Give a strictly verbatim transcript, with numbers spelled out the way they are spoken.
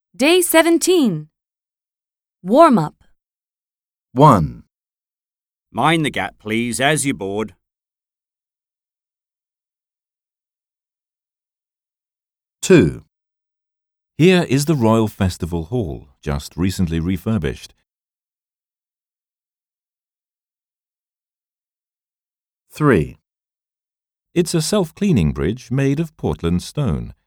Day seventeen. Warm-up. one. Mind the gap, please, as you board. two. Here is the Royal Festival Hall, just recently refurbished. three. It's a self-cleaning bridge made of Portland stone.